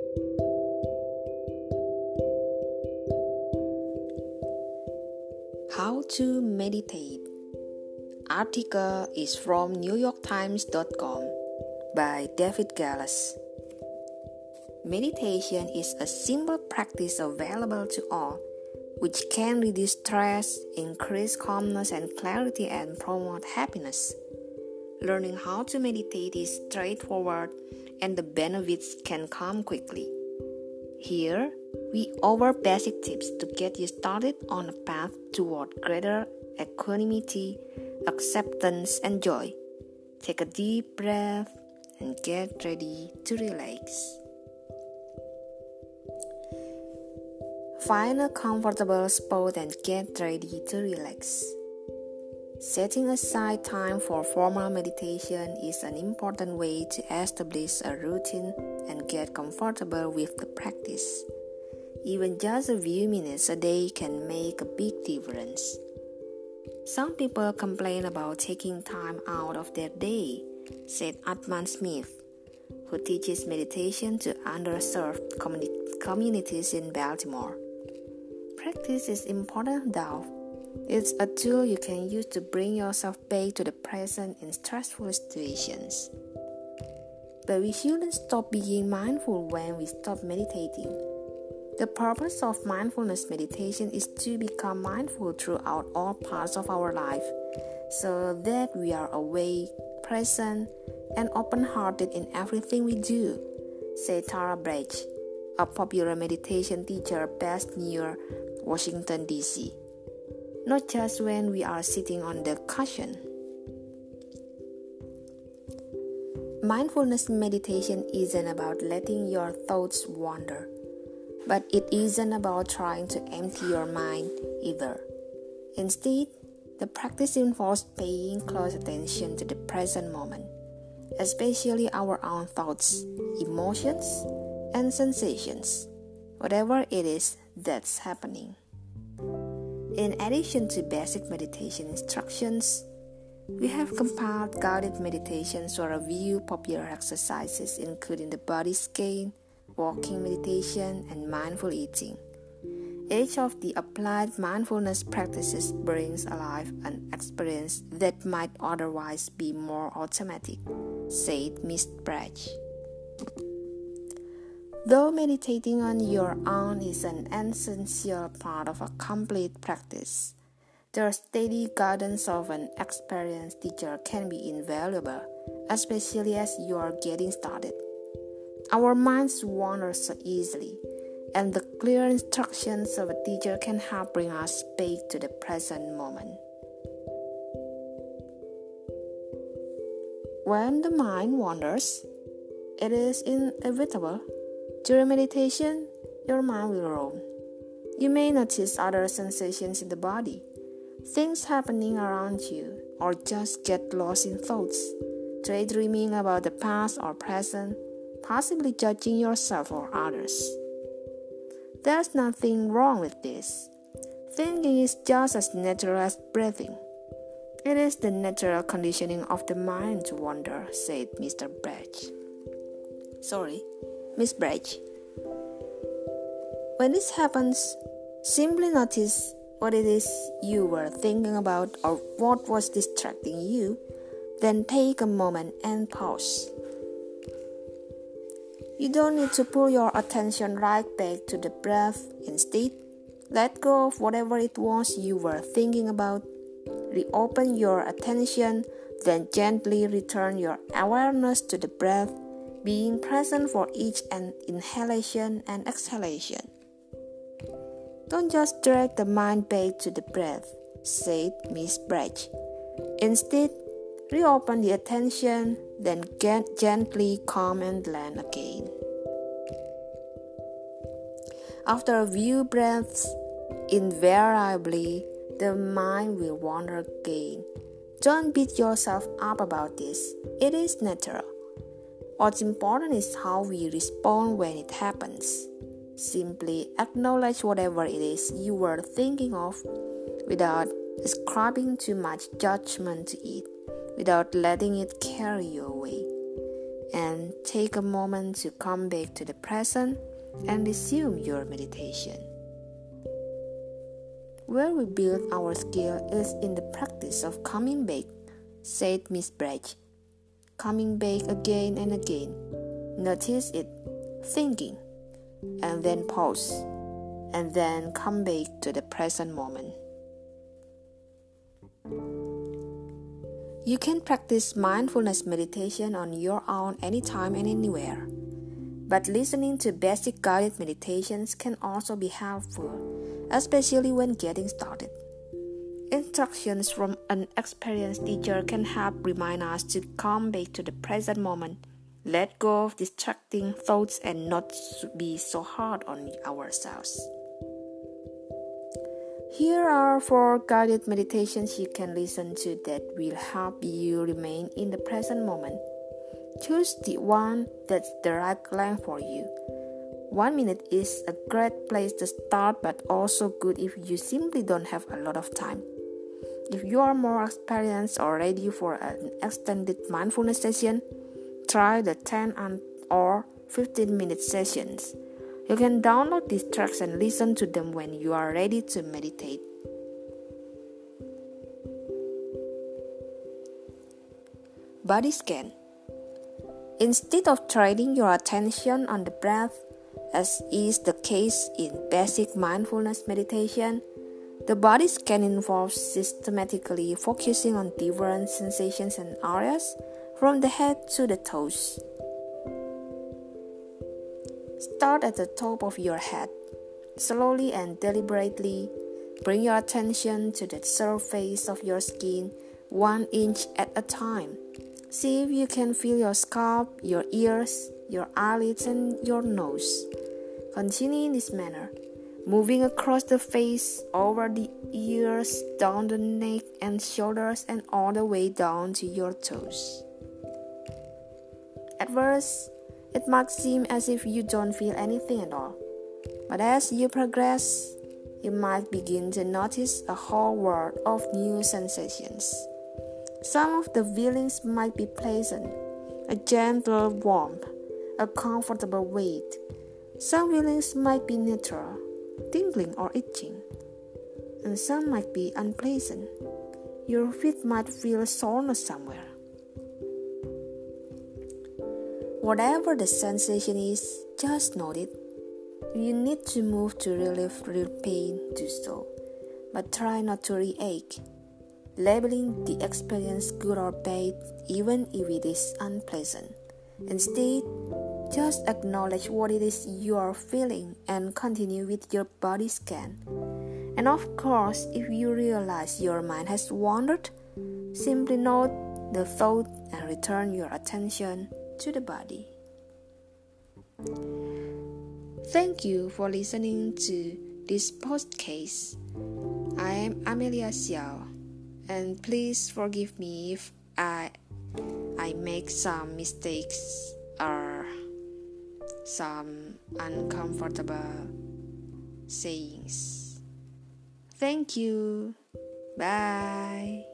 How to meditate. Article is from NewYorkTimes.com by David Gallas. Meditation is a simple practice available to all, which can reduce stress, increase calmness and clarity, and promote happiness. Learning how to meditate is straightforward, and the benefits can come quickly. Here, we offer basic tips to get you started on a path toward greater equanimity, acceptance, and joy. Take a deep breath and get ready to relax. Find a comfortable spot and get ready to relax. Setting aside time for formal meditation is an important way to establish a routine and get comfortable with the practice. Even just a few minutes a day can make a big difference. Some people complain about taking time out of their day, said Atman Smith, who teaches meditation to underserved communities in Baltimore. Practice is important though. It's a tool you can use to bring yourself back to the present in stressful situations. But we shouldn't stop being mindful when we stop meditating. The purpose of mindfulness meditation is to become mindful throughout all parts of our life, so that we are awake, present, and open-hearted in everything we do, said Tara Brach, a popular meditation teacher based near Washington, D.C. Not just when we are sitting on the cushion. Mindfulness meditation isn't about letting your thoughts wander, but it isn't about trying to empty your mind either. Instead, the practice involves paying close attention to the present moment, especially our own thoughts, emotions, and sensations, whatever it is that's happening. In addition to basic meditation instructions, we have compiled guided meditations for a few popular exercises, including the body scan, walking meditation, and mindful eating. Each of the applied mindfulness practices brings alive an experience that might otherwise be more automatic, said Ms. Brach. Though meditating on your own is an essential part of a complete practice, the steady guidance of an experienced teacher can be invaluable, especially as you are getting started. Our minds wander so easily, and the clear instructions of a teacher can help bring us back to the present moment. When the mind wanders, it is inevitable. During meditation, your mind will roam. You may notice other sensations in the body, things happening around you, or just get lost in thoughts, daydreaming about the past or present, possibly judging yourself or others. There's nothing wrong with this. Thinking is just as natural as breathing. It is the natural conditioning of the mind to wander, said Ms. Brach. When this happens, simply notice what it is you were thinking about or what was distracting you, then take a moment and pause. You don't need to pull your attention right back to the breath. Instead, let go of whatever it was you were thinking about. Reopen your attention, then gently return your awareness to the breath, being present for each inhalation and exhalation. Don't just drag the mind back to the breath, said Ms. Brach. Instead, reopen the attention, then gently calm and land again. After a few breaths, invariably, the mind will wander again. Don't beat yourself up about this. It is natural. What's important is how we respond when it happens. Simply acknowledge whatever it is you were thinking of without ascribing too much judgment to it, without letting it carry you away. and take a moment to come back to the present and resume your meditation. Where we build our skill is in the practice of coming back, said Miss Brach. Coming back again and again. Notice it, thinking, and then pause, and then come back to the present moment. You can practice mindfulness meditation on your own anytime and anywhere. But listening to basic guided meditations can also be helpful, especially when getting started. Instructions from an experienced teacher can help remind us to come back to the present moment, let go of distracting thoughts, and not be so hard on ourselves. Here are 4 guided meditations you can listen to that will help you remain in the present moment. Choose the one that's the right length for you. 1 minute is a great place to start, but also good if you simply don't have a lot of time. If you are more experienced or ready for an extended mindfulness session, try the 10 or 15-minute sessions. You can download these tracks and listen to them when you are ready to meditate. Body scan. Instead of training your attention on the breath, as is the case in basic mindfulness meditation, the body scan involves systematically focusing on different sensations and areas from the head to the toes. Start at the top of your head. Slowly and deliberately, bring your attention to the surface of your skin 1 inch at a time. See if you can feel your scalp, your ears, your eyelids, and your nose. Continue in this manner, moving across the face, over the ears, down the neck and shoulders, and all the way down to your toes. At first, it might seem as if you don't feel anything at all, but as you progress, you might begin to notice a whole world of new sensations. Some of the feelings might be pleasant, a gentle warmth, a comfortable weight. Some feelings might be neutral, tingling or itching, and some might be unpleasant. Your feet might feel soreness somewhere. Whatever the sensation is, just note it. If you need to move to relieve real pain, do so, but try not to react, labeling the experience good or bad even if it is unpleasant. Instead, just acknowledge what it is you are feeling and continue with your body scan. And of course, if you realize your mind has wandered, simply note the thought and return your attention to the body. Thank you for listening to this podcast. I am Amelia Xiao, and please forgive me if I make some mistakes or some uncomfortable sayings. Thank you. Bye.